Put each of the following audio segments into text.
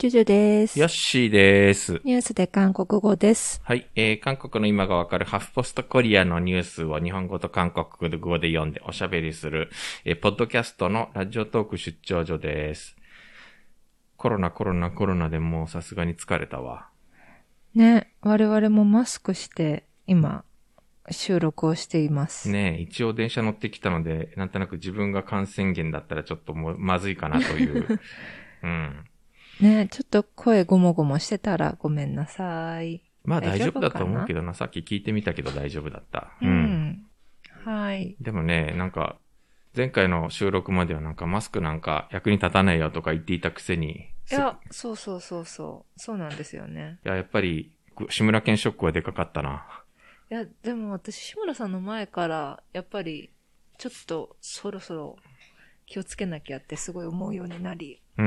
ジュジュです。 ヨッシーです。 ニュースで韓国語です。 はい、韓国の今がわかるハフポストコリアのニュースを日本語と韓国語で読んでおしゃべりする、ポッドキャストのラジオトーク出張所です。コロナでもうさすがに疲れたわ。 ね、我々もマスクして今収録をしています。 ねえ、一応電車乗ってきたので、なんとなく自分が感染源だったらちょっともうまずいかなという。うん。 ね、ちょっと声ごもごもしてたらごめんなさい。 まあ大丈夫だと思うけどな、さっき聞いてみたけど大丈夫だった。 うん。はい。 でもね、なんか、前回の収録まではなんかマスクなんか役に立たないよとか言っていたくせに。 いや、そうなんですよね。 いや、やっぱり、志村けんショックはでかかったな。 いや、でも私、志村さんの前から、やっぱり、ちょっとそろそろ気をつけなきゃってすごい思うようになり。 うん。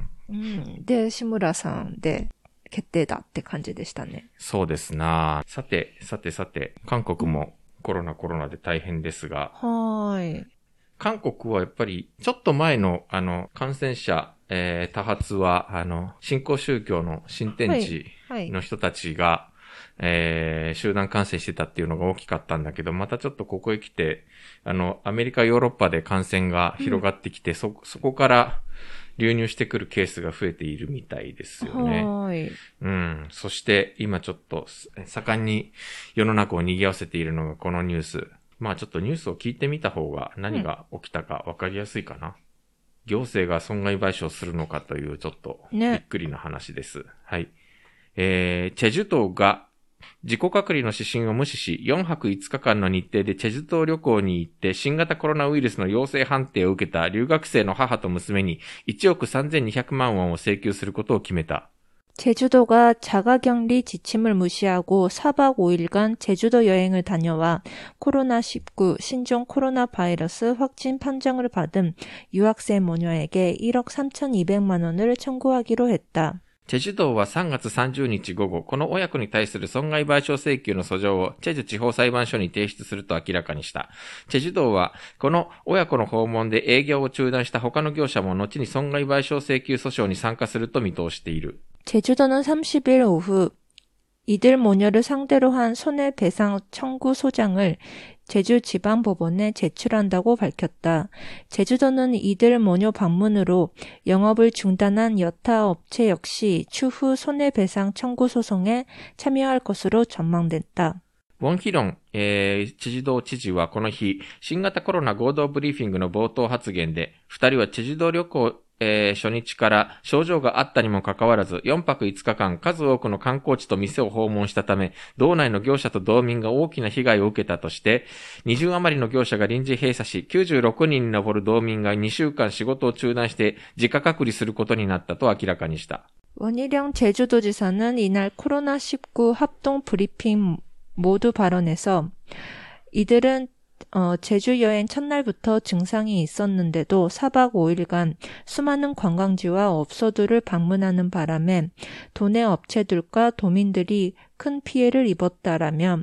で、志村さんで決定だって感じでしたね。 そうですな。さて、韓国もコロナで大変ですが。 はい。 韓国はやっぱり、ちょっと前の、感染者、多発は、新興宗教の新天地の人たちが、集団感染してたっていうのが大きかったんだけど、またちょっとここへ来て、アメリカ、ヨーロッパで感染が広がってきて、そこから流入してくるケースが増えているみたいですよね。 はい。 うん。そして、今ちょっと、盛んに世の中を賑わせているのがこのニュース。まあちょっとニュースを聞いてみた方が何が起きたか分かりやすいかな。行政が損害賠償するのかというちょっとびっくりな話です。はい。チェジュ島が自己隔離の指針を無視し、4泊5日間の日程でチェジュ島旅行に行って新型コロナウイルスの陽性判定を受けた留学生の母と娘に1億3200万ウォンを請求することを決めた。 제주도가 자가격리 지침을 무시하고 4박 5일간 제주도 여행을 다녀와 코로나19 신종 코로나 바이러스 확진 판정을 받은 유학생 모녀에게 1억 3,200만 원을 청구하기로 했다. チェジュ道は3月30日午後、この親子に対する損害賠償請求の訴状をチェジュ地方裁判所に提出すると明らかにした。チェジュ道は、この親子の訪問で営業を中断した他の業者も後に損害賠償請求訴訟に参加すると見通している。 제주도는 30일 오후 이들 모녀를 상대로 한 손해배상 청구 소장을 제주지방법원에 제출한다고 밝혔다. 제주도는 이들 모녀 방문으로 영업을 중단한 여타 업체 역시 추후 손해배상 청구 소송에 참여할 것으로 전망됐다. ウォンヒロン、チェジュ道知事はこの日、新型コロナ合同ブリーフィングの冒頭発言で、二人はチェジュ道旅行、初日から症状があったにもかかわらず、4泊5日間数多くの観光地と店を訪問したため、道内の業者と道民が大きな被害を受けたとして、20余りの業者が臨時閉鎖し、96人に上る道民が2週間仕事を中断して自家隔離することになったと明らかにした。 원희룡 제주도지사는 이날 코로나19 합동 브리핑 모두 발언에서 이들은 제주 여행 첫날부터 증상이 있었는데도 4박 5일간 수많은 관광지와 업소들을 방문하는 바람에 도내 업체들과 도민들이 큰 피해를 입었다라며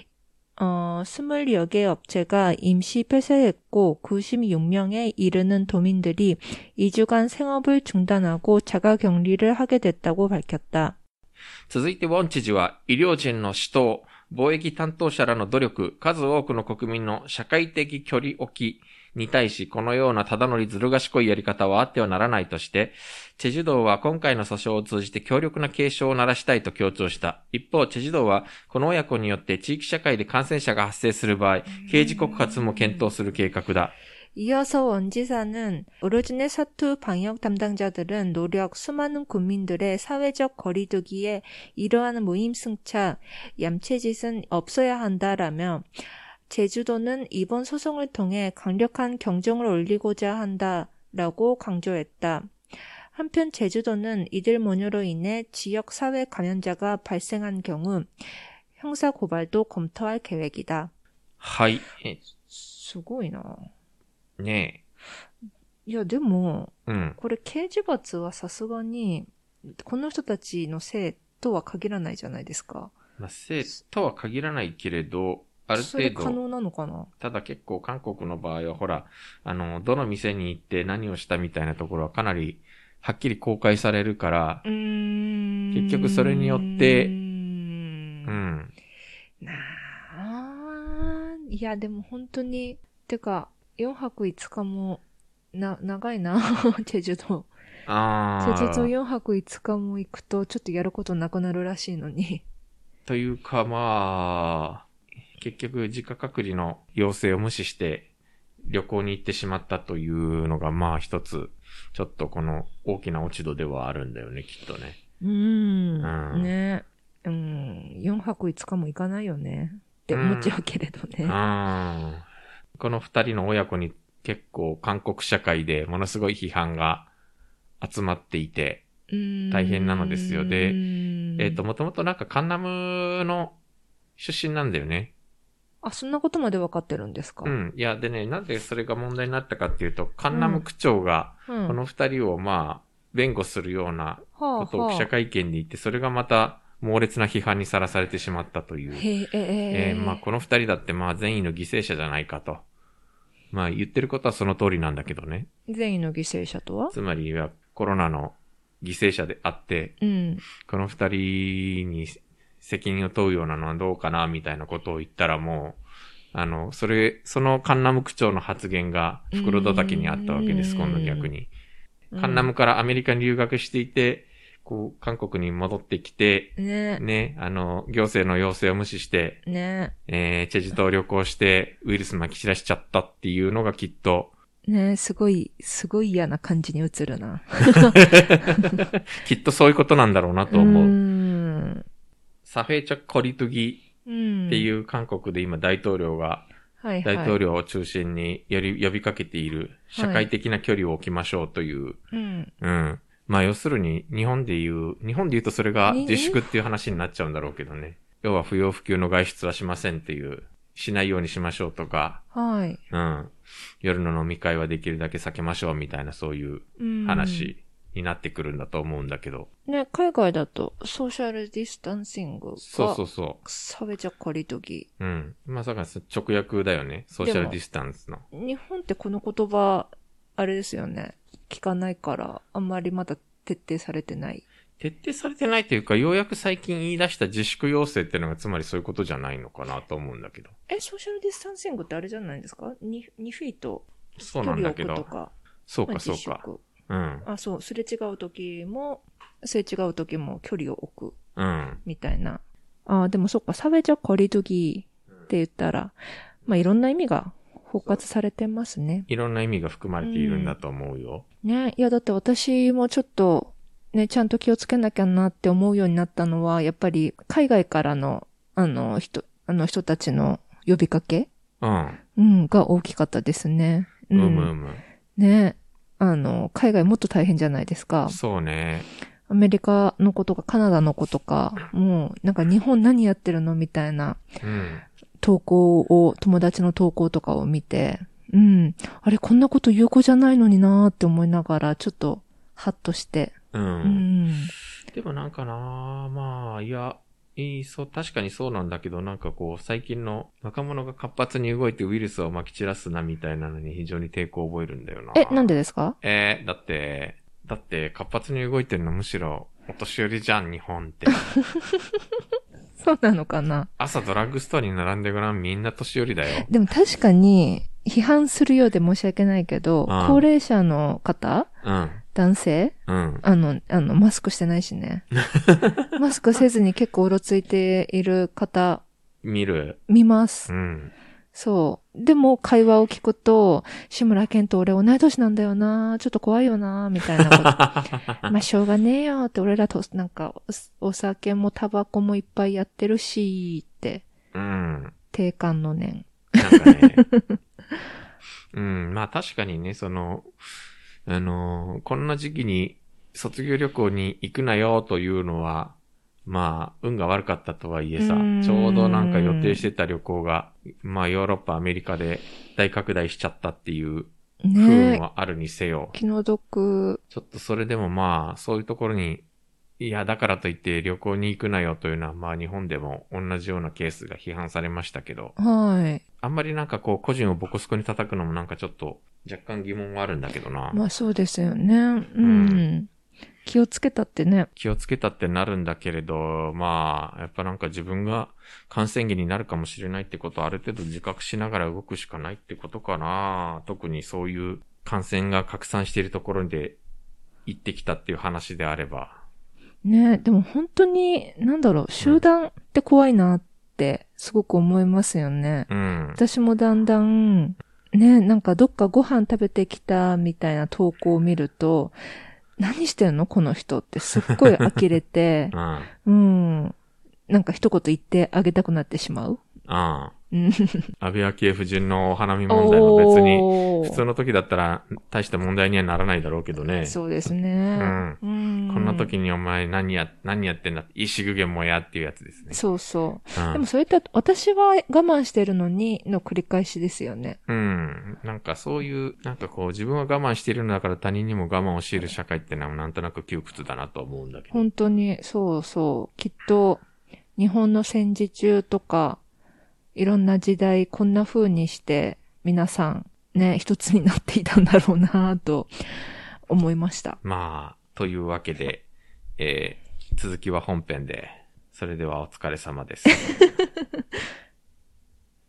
20여 개 업체가 임시 폐쇄했고 96명에 이르는 도민들이 2주간 생업을 중단하고 자가격리를 하게 됐다고 밝혔다. 続いてウォン知事は医療人の指導、貿易担当者らの努力、数多くの国民の社会的距離置きに対し、このようなただのずる賢いやり方はあってはならないとして、チェジュ道は今回の訴訟を通じて強力な警鐘を鳴らしたいと強調した。一方、チェジュ道はこの親子によって地域社会で感染者が発生する場合、刑事告発も検討する計画だ。 이어서 원 지사는 오로진의 사투 방역 담당자들은 노력 수많은 국민들의 사회적 거리두기에 이러한 무임승차, 얌체짓은 없어야 한다라며 제주도는 이번 소송을 통해 강력한 경종을 울리고자 한다라고 강조했다. 한편 제주도는 이들 모녀로 인해 지역 사회 감염자가 발생한 경우 형사 고발도 검토할 계획이다. はい。 すごいな。 ねえ。いや、でも、 これ刑事罰はさすがに、この人たちのせいとは限らないじゃないですか。 まあ、せいとは限らないけれど、ある程度。 それ可能なのかな。 ただ結構韓国の場合は、ほら、どの店に行って何をしたみたいなところはかなりはっきり公開されるから、結局それによって、 なあ、いや、でも本当に、てか、4泊5日も、長いな、チェジュ島。チェジュ島4泊5日も行くと、ちょっとやることなくなるらしいのに。 というか、まあ、結局自家隔離の要請を無視して旅行に行ってしまったというのが、まあ一つ、ちょっとこの大きな落ち度ではあるんだよね、きっとね。 ね。4泊5日も行かないよね。って思っちゃうけれどね。 この2人の親子に結構韓国社会でものすごい批判が集まっていて、大変なのですよ。で、もともとなんかカンナムの出身なんだよね。 あ、そんなことまで分かってるんですか？ いや、でね、なんでそれが問題になったかっていうと、カンナム区長が、この2人をまあ、弁護するようなことを記者会見で言って、それがまた猛烈な批判にさらされてしまったという。まあ、この2人だってまあ、善意の犠牲者じゃないかと。まあ、言ってることはその通りなんだけどね。 善意の犠牲者とは？ つまりはコロナの犠牲者であって、この二人に責任を問うようなのはどうかな、みたいなことを言ったらもう、そのカンナム区長の発言が袋叩きにあったわけです、今度逆に。カンナムからアメリカに留学していて、こう、韓国に戻ってきて、ね、行政の要請を無視して、チェジュ島旅行してウイルス撒き散らしちゃったっていうのがきっと、 ね、すごい嫌な感じに映るな。 きっとそういうことなんだろうなと思う。サフェチャ・コリトギっていう韓国で今大統領が、大統領を中心に呼びかけている社会的な距離を置きましょうという。まあ要するに日本で言うとそれが自粛っていう話になっちゃうんだろうけどね。要は不要不急の外出はしませんっていう。しないようにしましょうとか、夜の飲み会はできるだけ避けましょうみたいなそういう話になってくるんだと思うんだけど。 ね、海外だとソーシャルディスタンシングが、 そう。 サベチャコリトギ。 まさか直訳だよね。ソーシャルディスタンスの。 日本ってこの言葉、あれですよね。聞かないから、あんまりまだ徹底されてない。 徹底されてないというか、ようやく最近言い出した自粛要請っていうのがつまりそういうことじゃないのかなと思うんだけど。 ソーシャルディスタンシングってあれじゃないですか 2 フィート。 そうなんだけど。 距離を置くとか。 そうか。 そう、すれ違う時も距離を置く。みたいな。でもそっか、サベジャコリドギって言ったら、まあいろんな意味が包括されてますね。 いろんな意味が含まれているんだと思うよ。 ね、いやだって私もちょっと、ね、ちゃんと気をつけなきゃなって思うようになったのは、やっぱり海外からの、人たちの呼びかけが大きかったですね。ね、海外もっと大変じゃないですか。 そうね。 アメリカの子とかカナダの子とか、もうなんか日本何やってるのみたいな、友達の投稿とかを見て、あれこんなこと有効じゃないのになーって思いながら、ちょっとハッとして、 でもなんかなまあ、確かにそうなんだけど、なんかこう、最近の若者が活発に動いてウイルスを撒き散らすなみたいなのに非常に抵抗を覚えるんだよな。 なんでですか？ だって活発に動いてるのむしろお年寄りじゃん、日本って。 そうなのかな？ 朝ドラッグストアに並んでごらん、みんな年寄りだよ。 でも確かに、批判するようで申し訳ないけど、高齢者の方、男性、マスクしてないしね。マスクせずに結構うろついている方、見ます。そう。でも会話を聞くと、志村けんと俺同い年なんだよな、ちょっと怖いよな、みたいなこと。まあしょうがねえよって、俺らとなんかお酒もタバコもいっぱいやってるし、って。定感の念。 なんかね。まあ確かにね、こんな時期に卒業旅行に行くなよというのは、まあ、運が悪かったとはいえさ、ちょうどなんか予定してた旅行が、まあヨーロッパ、アメリカで大拡大しちゃったっていう不運はあるにせよ。 気の毒。 ちょっとそれでもまあ、そういうところに、いや、だからといって旅行に行くなよというのは、まあ日本でも同じようなケースが批判されましたけど。あんまりなんかこう、個人をボコスコに叩くのもなんかちょっと若干疑問はあるんだけどな。 まあそうですよね。 気をつけたってね。 気をつけたってなるんだけれど、まあ、やっぱなんか自分が感染源になるかもしれないってことをある程度自覚しながら動くしかないってことかな。特にそういう感染が拡散しているところで行ってきたっていう話であれば。 ね、でも本当に、集団って怖いなってすごく思いますよね。 うん。 私もだんだん、ね、なんかどっかご飯食べてきたみたいな投稿を見ると、何してんのこの人ってすっごい呆れて、 うん。 なんか一言言ってあげたくなってしまう。 安うん倍昭恵夫人のお花見問題も別に、普通の時だったら大した問題にはならないだろうけどね。 そうですね。 こんな時にお前何やってんだって、石具現もやっていうやつですね。 そうそう。でもそれって私は我慢してるのにの繰り返しですよね。 なんかそういう、なんかこう自分は我慢しているんだから他人にも我慢を強いる社会ってのはなんとなく窮屈だなと思うんだけど。 本当に、そうそう。きっと、日本の戦時中とか、いろんな時代こんな風にして皆さんね、一つになっていたんだろうなと思いました。 まあ、というわけで、続きは本編で。それではお疲れ様です。